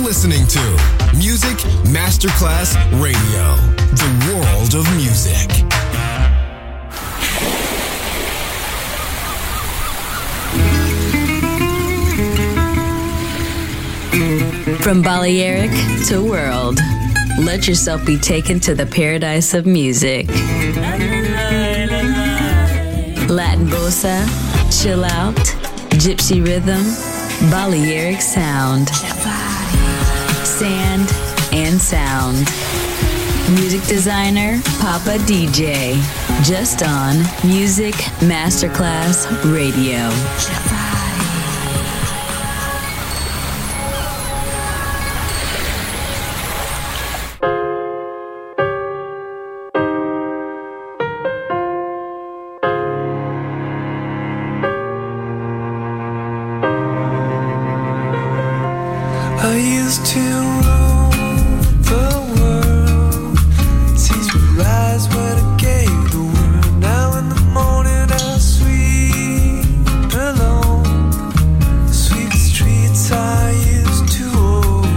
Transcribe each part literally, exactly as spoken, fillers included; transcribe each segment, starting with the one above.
listening to Music Masterclass Radio, the world of music. From Balearic to world, let yourself be taken to the paradise of music. Latin bossa, chill out, gypsy rhythm, Balearic sound, sand and sound. Music designer, Papa D J, just on Music Masterclass Radio. I used to rule the world, seas would rise when I gave the word. Now in the morning I sweep alone, sweep the streets I used to own.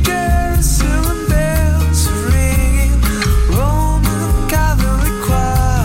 Quiet.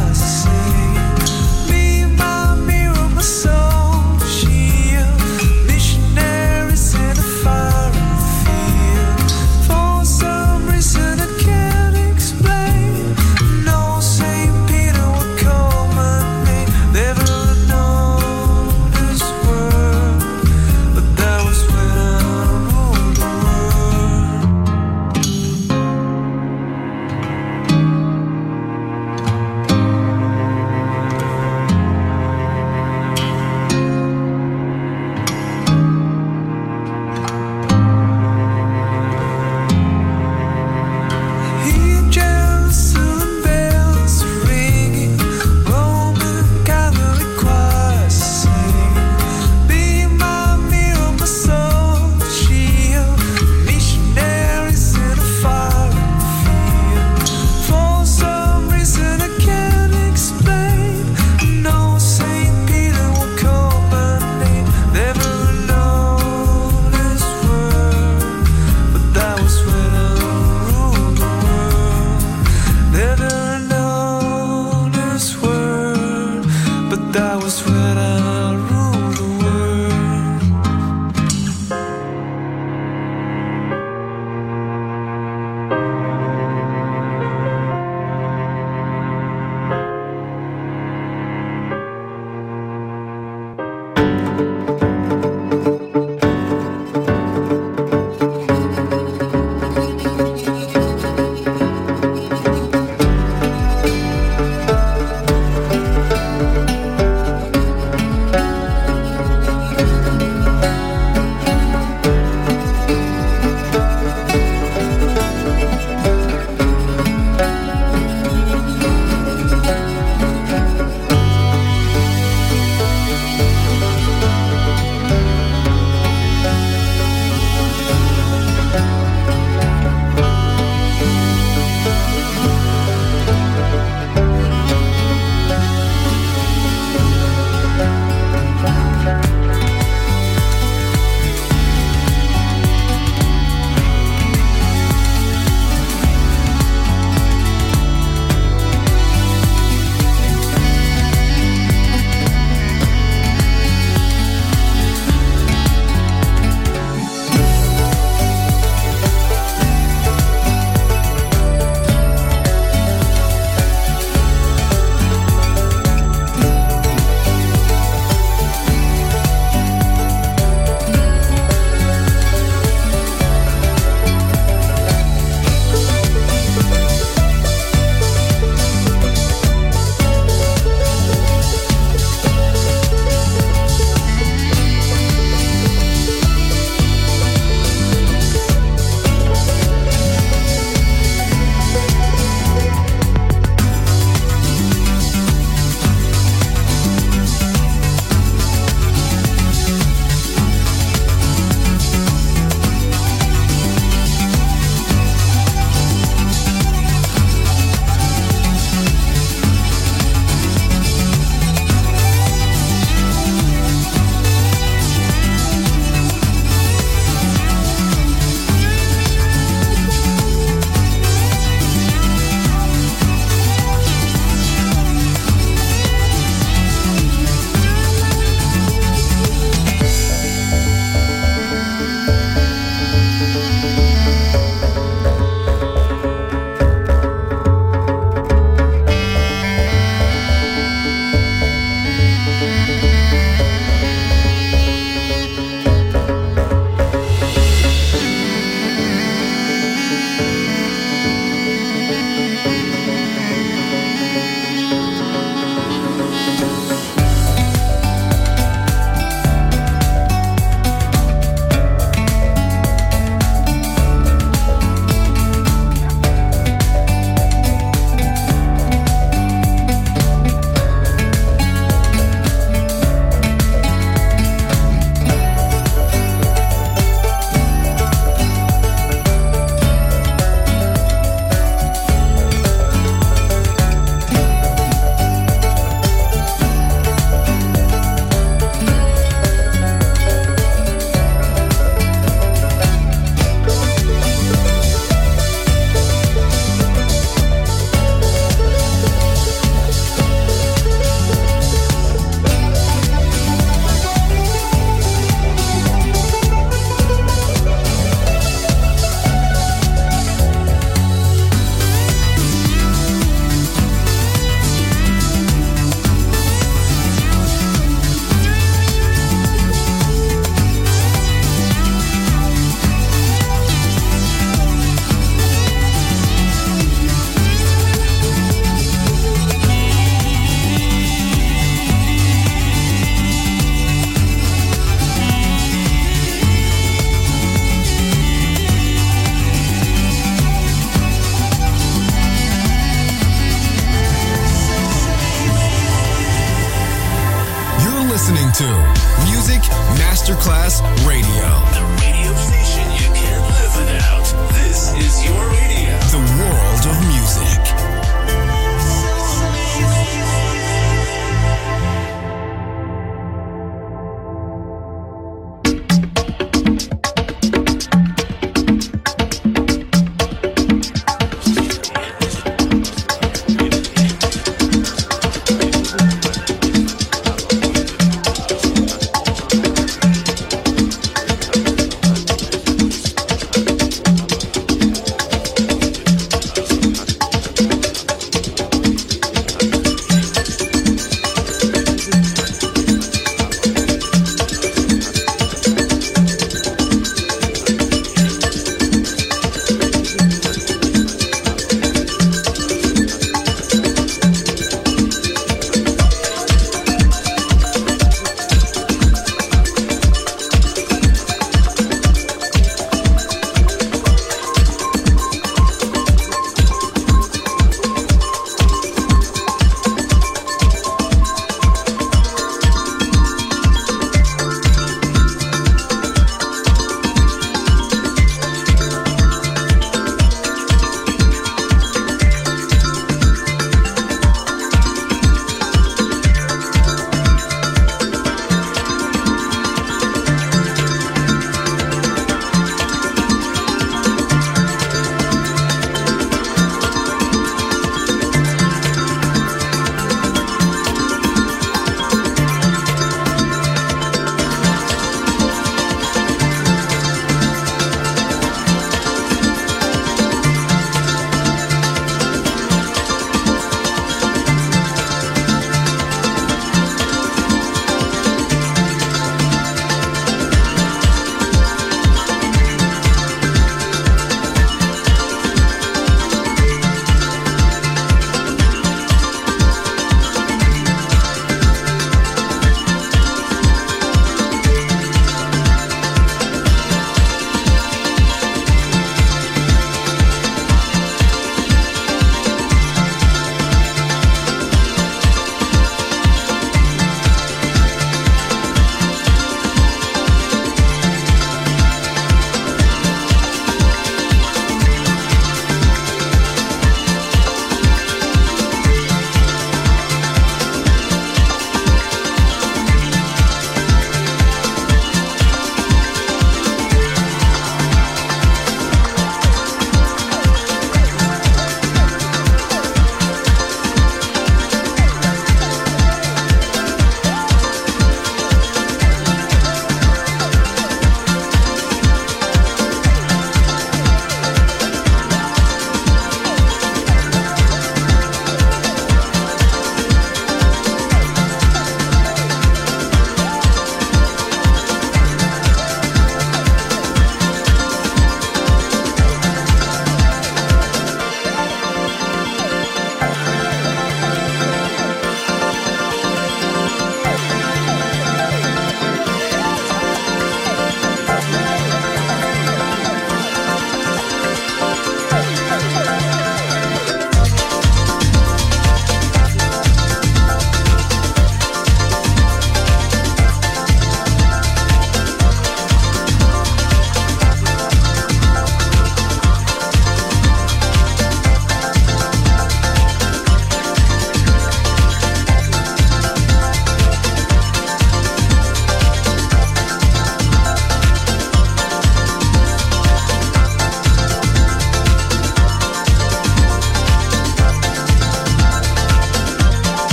to Music Masterclass Radio. The radio station you can't live without. This is your radio. The world of music.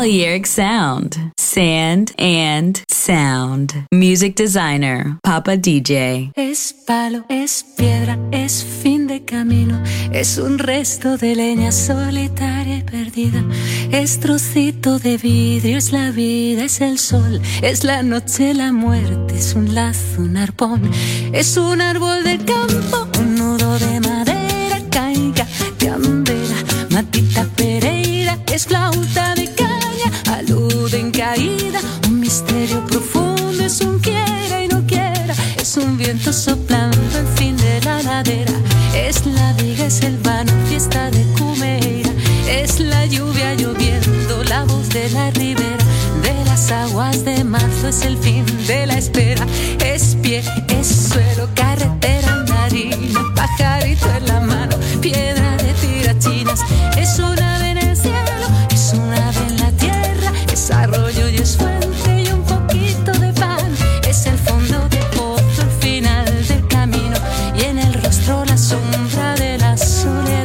Balearic Sound. Sand and Sound. Music designer, Papa D J. Es palo, es piedra, es fin de camino. Es un resto de leña solitaria y perdida. Es trocito de vidrio, es la vida, es el sol. Es la noche, la muerte, es un lazo, un arpón. Es un árbol del campo, un nudo de madera. Caiga, candela, matita pereira. Es flauta de caña, alude en caída. Un misterio profundo, es un quiera y no quiera. Es un viento soplando el fin de la ladera. Es la viga, es el vano, fiesta de Cumeira. Es la lluvia lloviendo, la voz de la ribera. De las aguas de marzo es el fin de la espera. Es pie, es suelo, carretera, harina, pajarito en la mano, piedra de tirachinas. Es un ave en el cielo, es un ave en la tierra. Es arroyo y es fuente y un poquito de pan. Es el fondo de pozo, el final del camino. Y en el rostro la sombra de la soledad.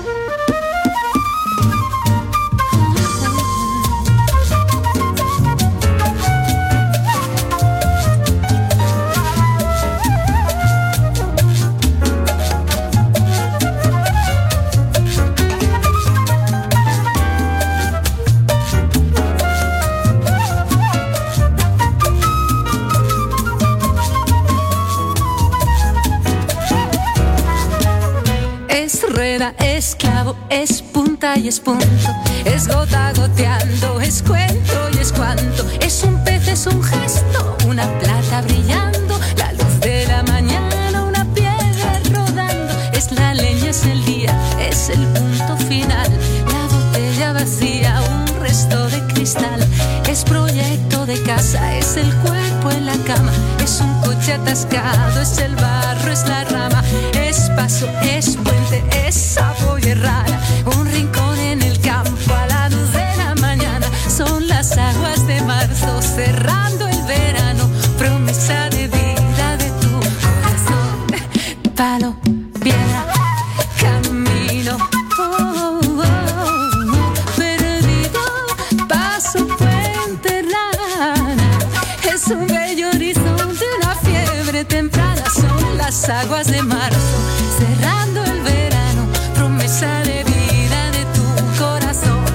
Es clavo, es punta y es punto. Es gota goteando, es cuento y es cuanto. Es un pez, es un gesto, una plata brillando. La luz de la mañana, una piedra rodando. Es la leña, es el día, es el punto final. La botella vacía, un resto de cristal. Es proyecto de casa, es el cuerpo en la cama. Es un coche atascado, es el barro, es la rama. Es paso, es puente, es sapo y es rara. Un rincón en el campo a la luz de la mañana. Son las aguas de marzo cerrando el verano. Promesa de vida de tu corazón. Palo, piedra, camino. Oh, oh, oh, perdido, paso, puente, rana. Es un bello horizonte, una fiebre temprana. Son las aguas de marzo cerrando el verano. Promesa de vida de tu corazón.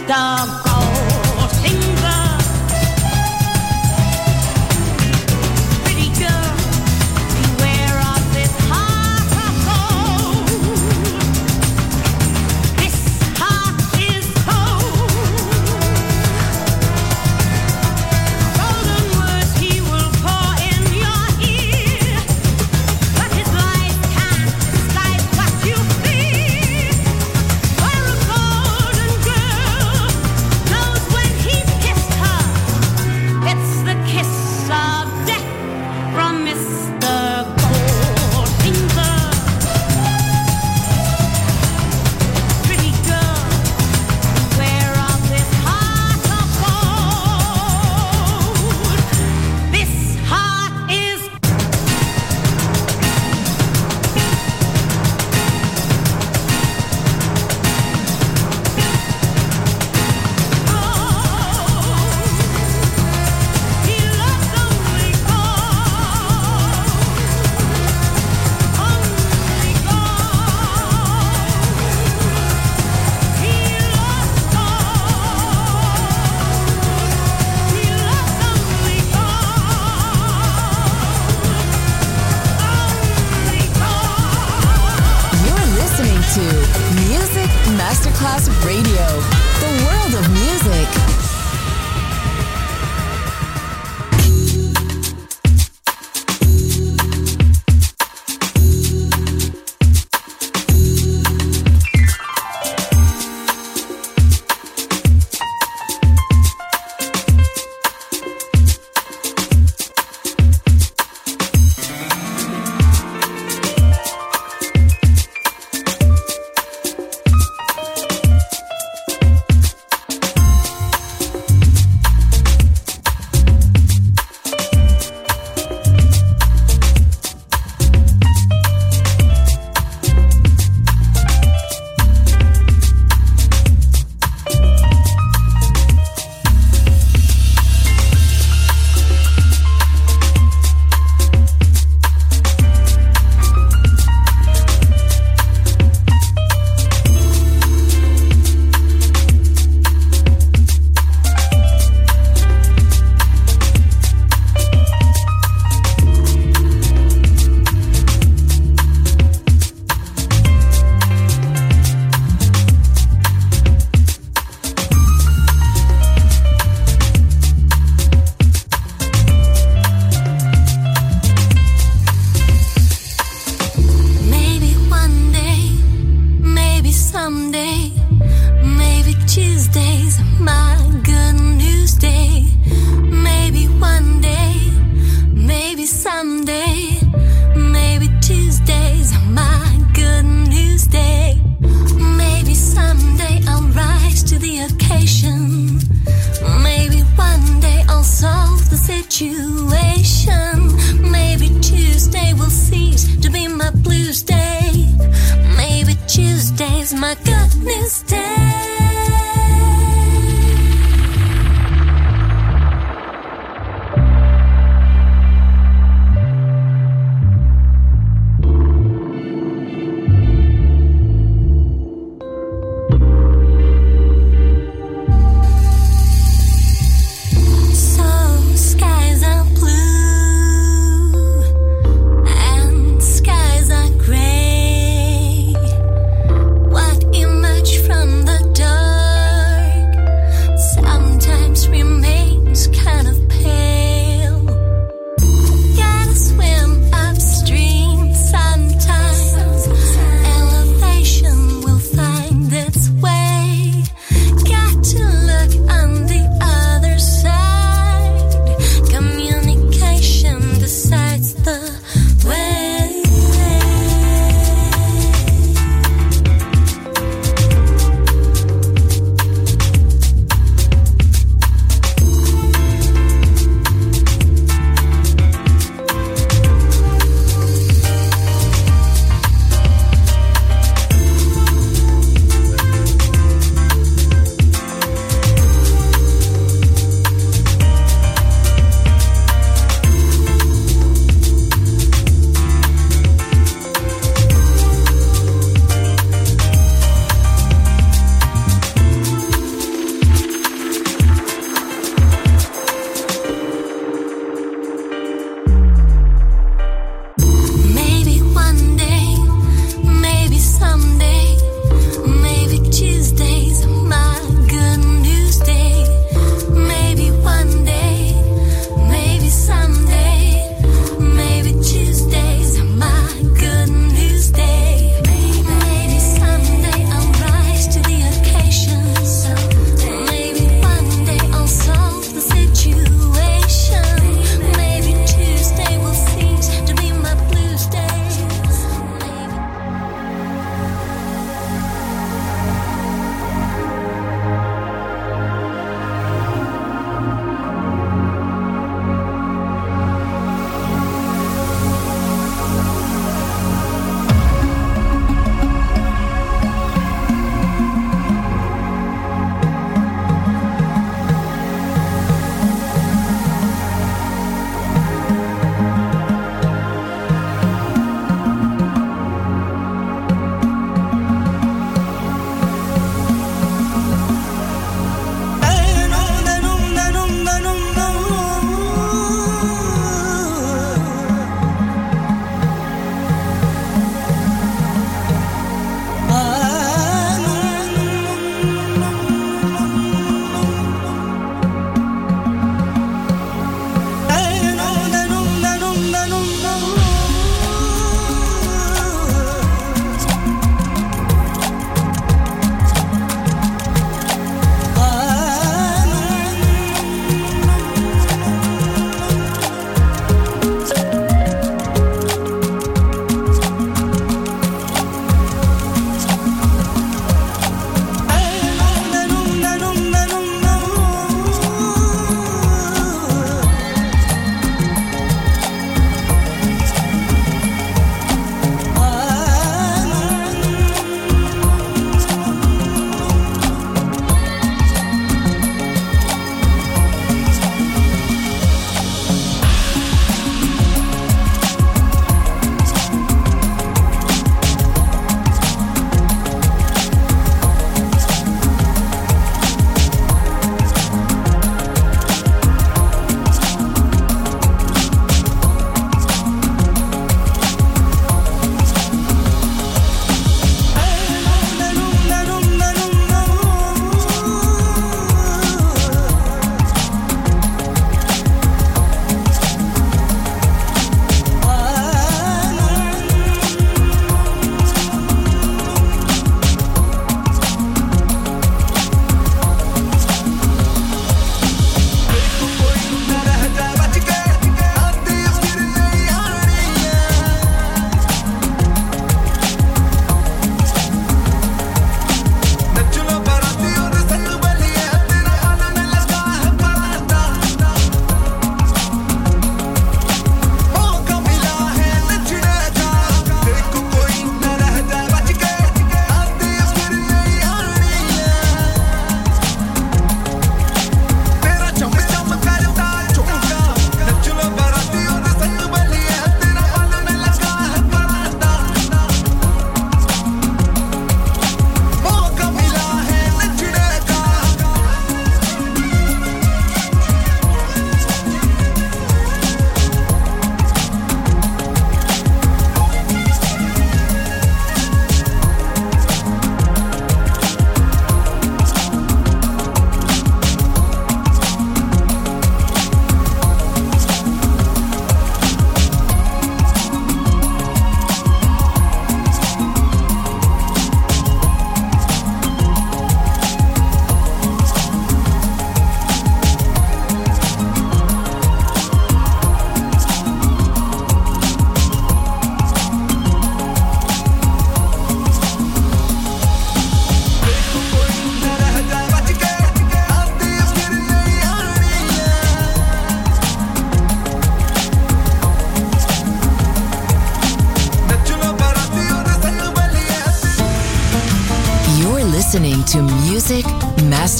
Masterclass Radio, the world of music.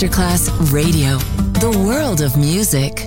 Masterclass Radio, the world of music.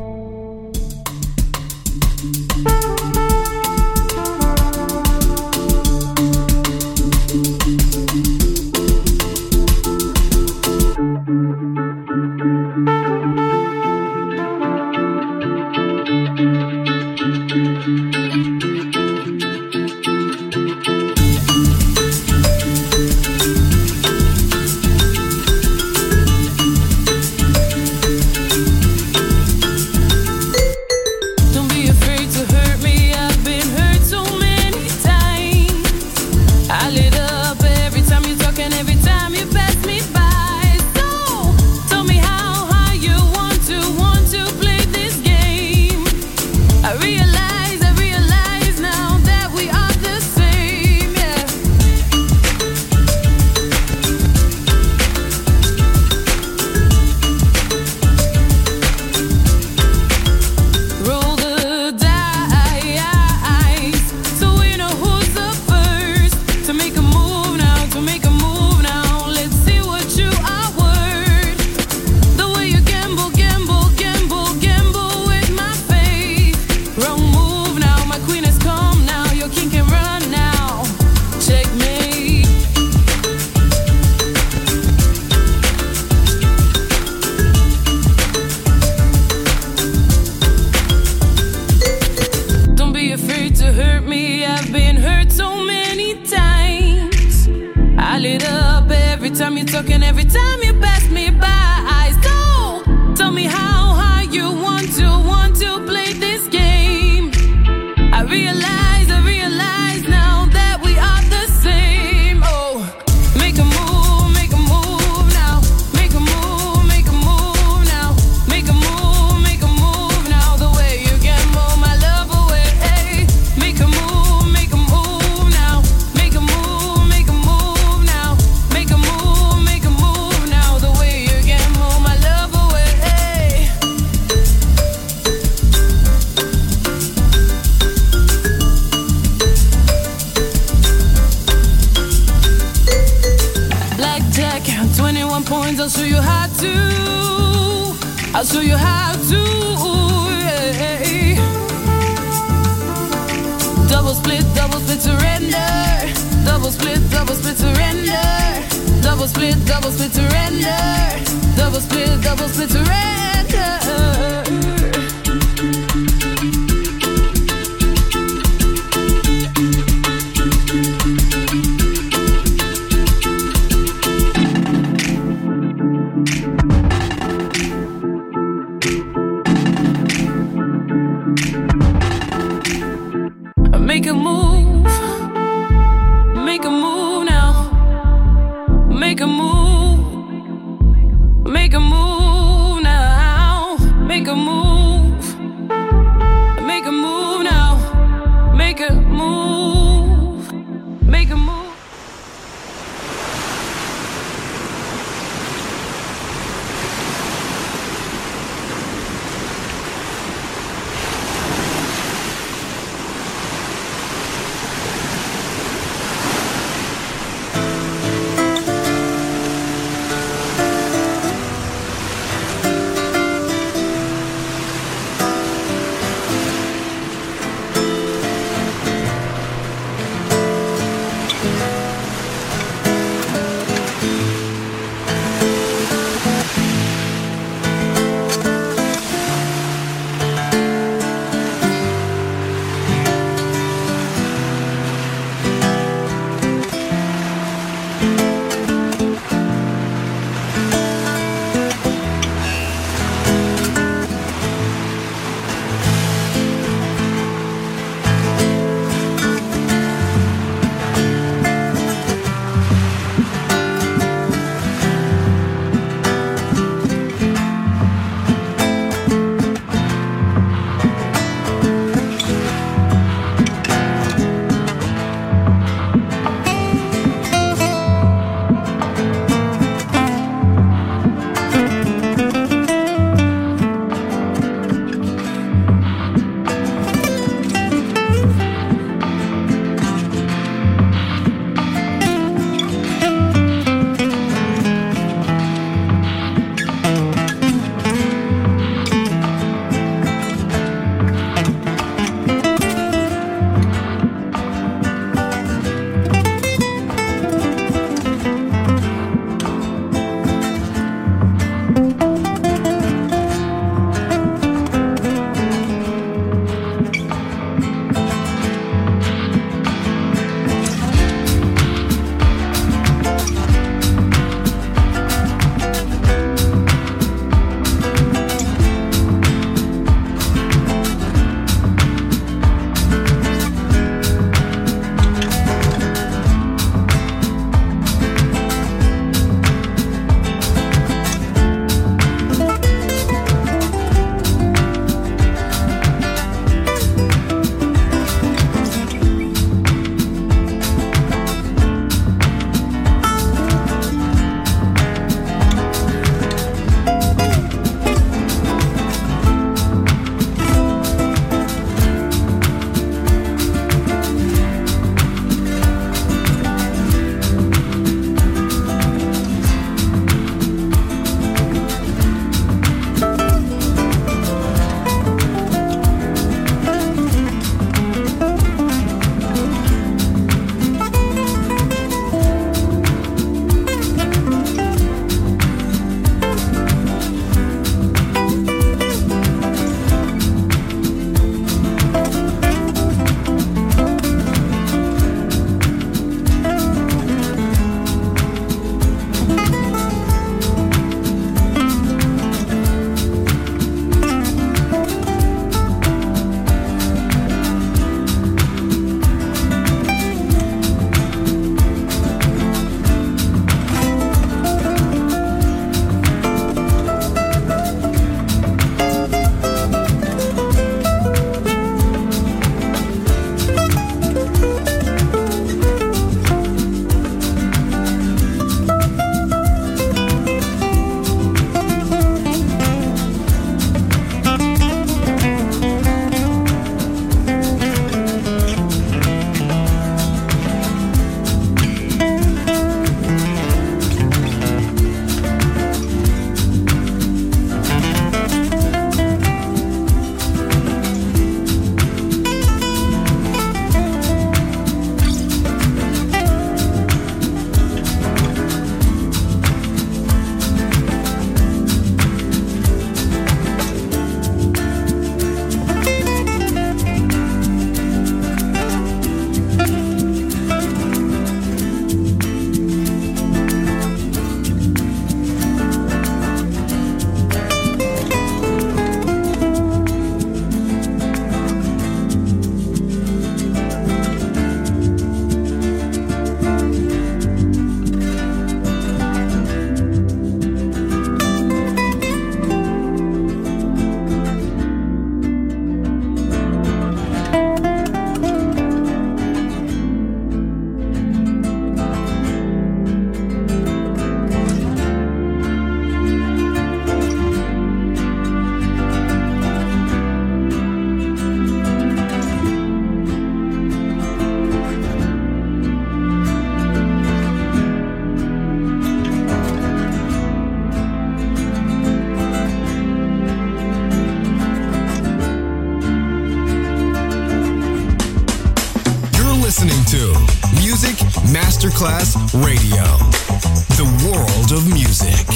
Masterclass Radio. The world of music.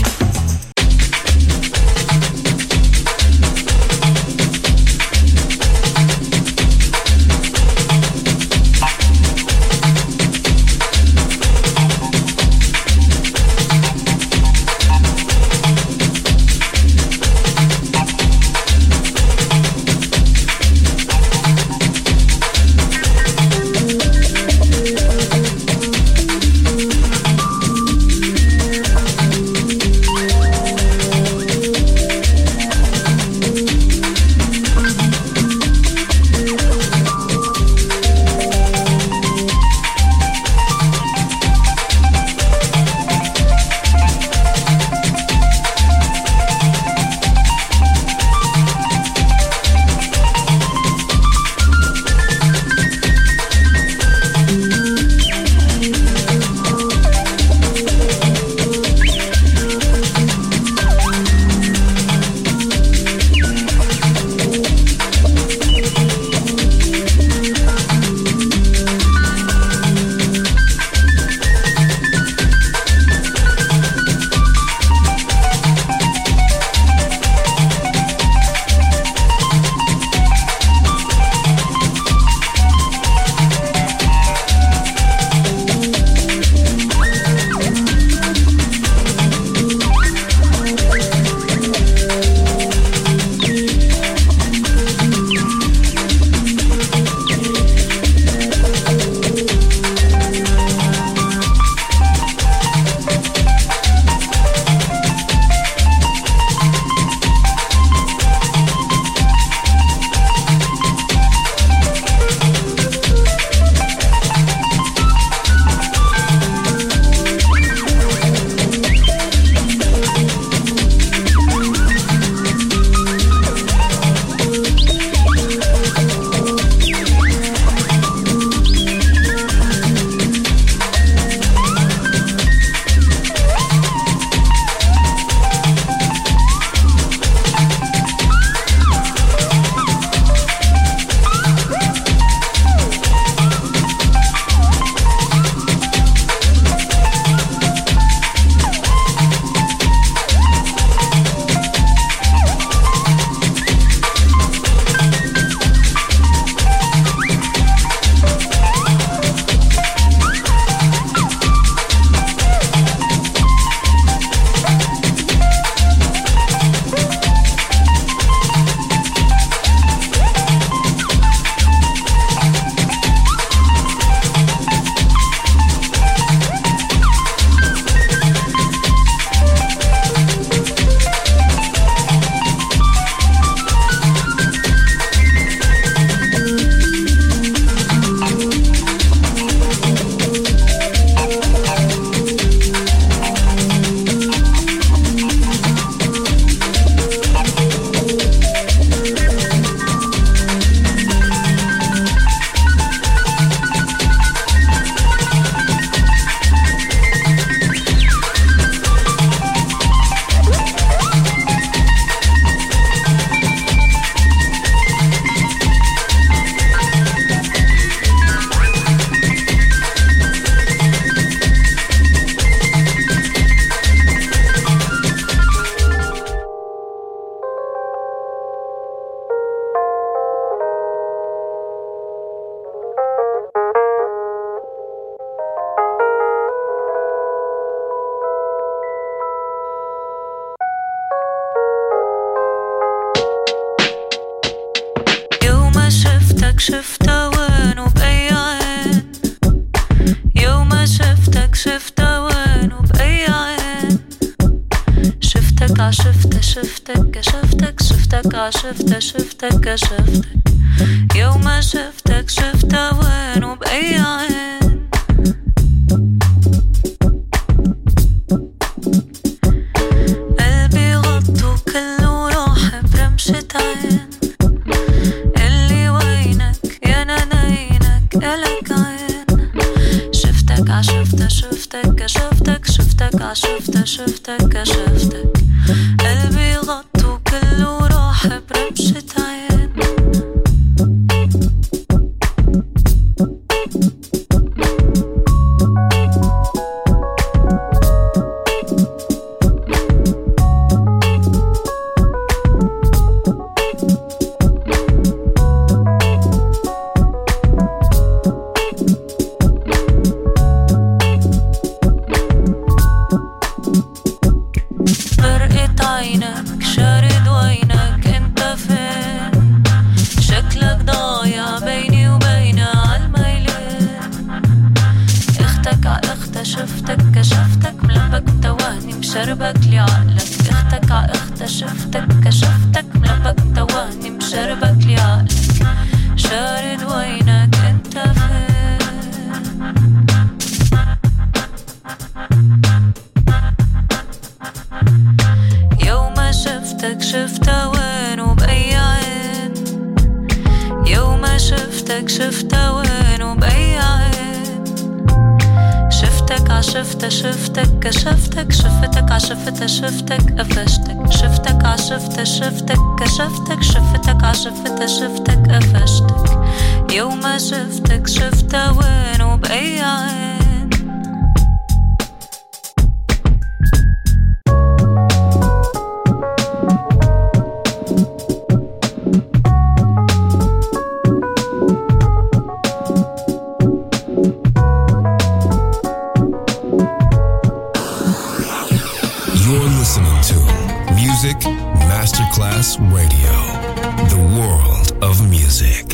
شفتها وين وبأي عين، يوم شفتك شفتها وين وبأي عين، شفتك عشفتها شفتك كشفتك شفتك عشفتها شفتك كشفتك، يوم شفتك شفتها وين وبأي عين، قلبي غطو كله راح برمشة عين، عشفتها شفتك كشفتك شفتك عشفتها شفتك كشفتك، قلبي غطو كله راح برمشة عين. عينك شارد وينك انت فين شكلك ضايع بيني وبينها عالميلين اختك ع اختها شفتك كشفتك ملبك متوهني مشربك لعقلك اختك ع اختها شفتك كشفتك ملبك متوهني مشربك لعقلك شارد وينك انت فين يوم شفتك شفتها وين وبأي عين يوم شفتك شفتها وين وبأي عين شفتك عشفتها شفتك كشفتك شفتك عشفتها شفتك قفشتك شفتك عشفتها شفتك كشفتك شفتك عشفتها شفتك قفشتك يوم شفتك شفتها وين وبأي عين Music Masterclass Radio, the world of music.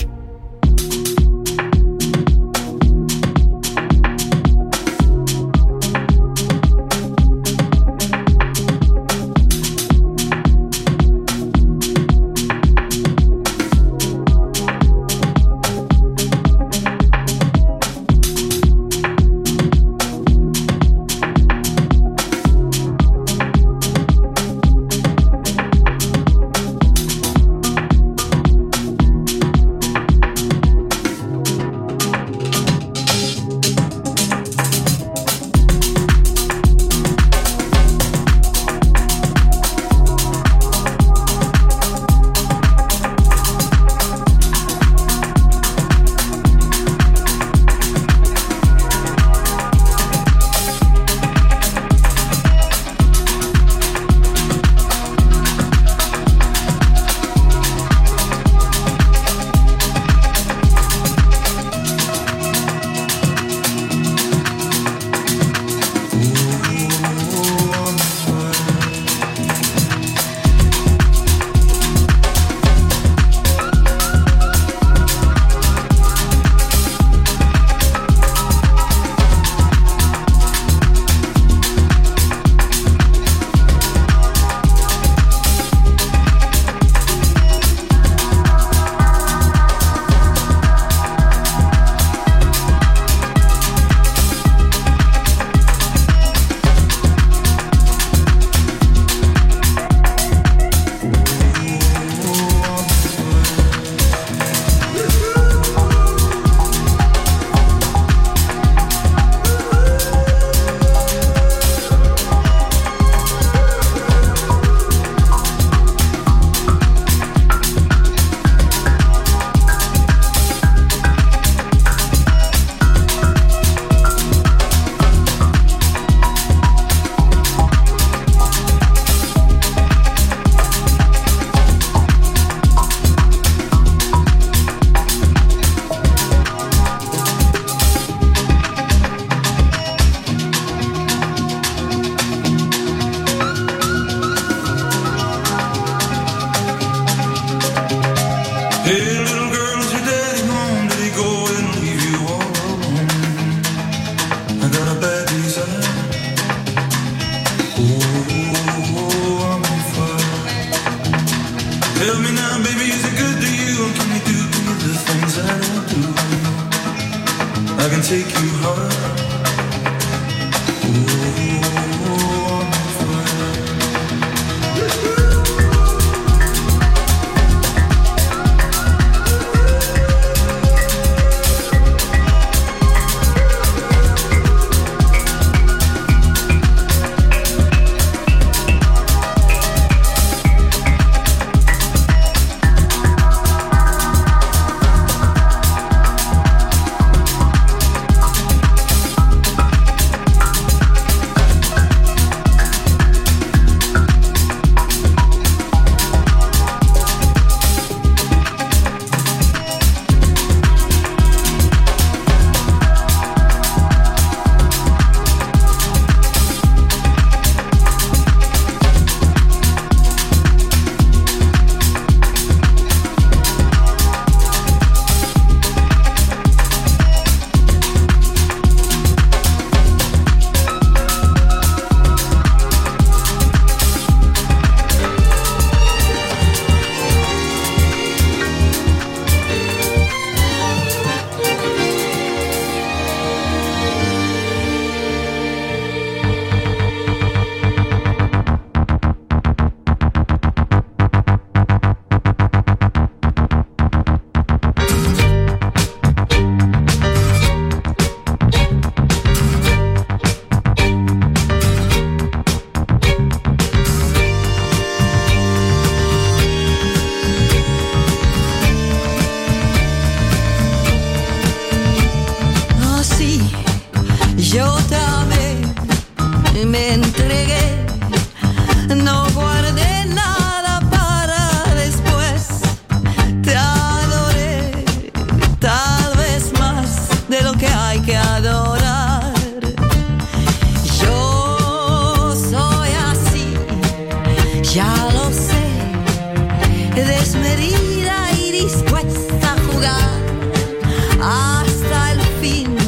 desmedida y dispuesta a jugar hasta el fin,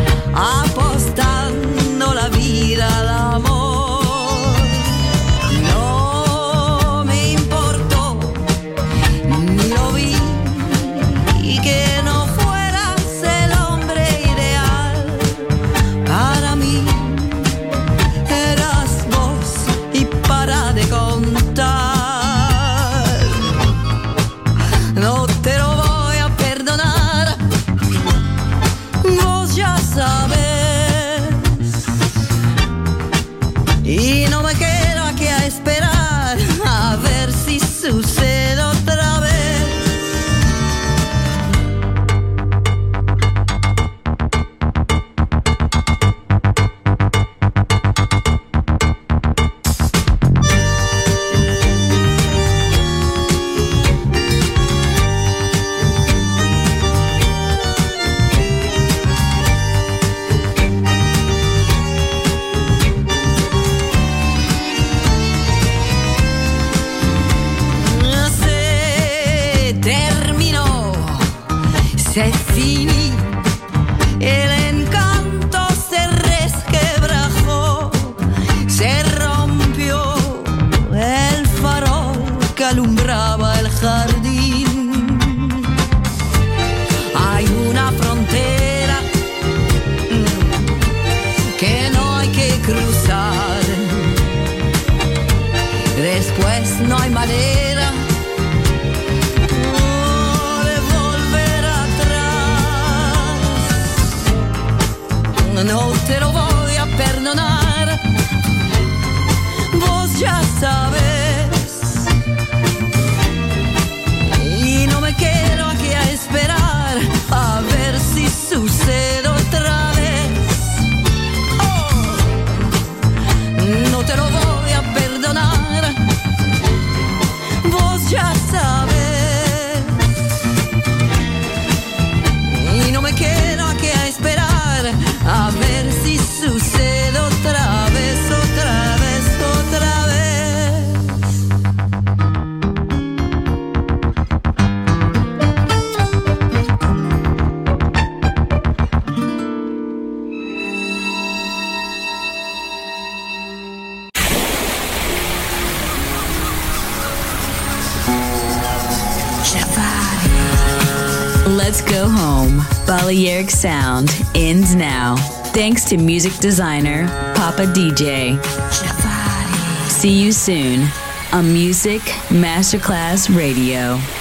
apostando la vida al amor. No me importó, ni lo vi, y que no fueras el hombre ideal para mí. Eras vos y para de contar. No te lo voy a perdonar, vos ya sabes. Y no me quedo aquí a esperar a ver si sucede otra vez. Se terminó, se finí, el encanto se resquebrajó, se rompió el farol que alumbraba el jardín. Hay una frontera mm, que no hay que cruzar, después no hay manera oh, de volver atrás. No te lo voy a perdonar, vos ya sabes. Y no me quedo aquí a esperar a ver si sucede otra vez. Oh, no te lo voy a perdonar, vos ya sabes. Y no me quedo aquí a esperar a ver si sucede otra vez, otra vez, otra vez. Let's go home. Balearic Sound ends now. Thanks to music designer Papa D J. See you soon on Music Masterclass Radio.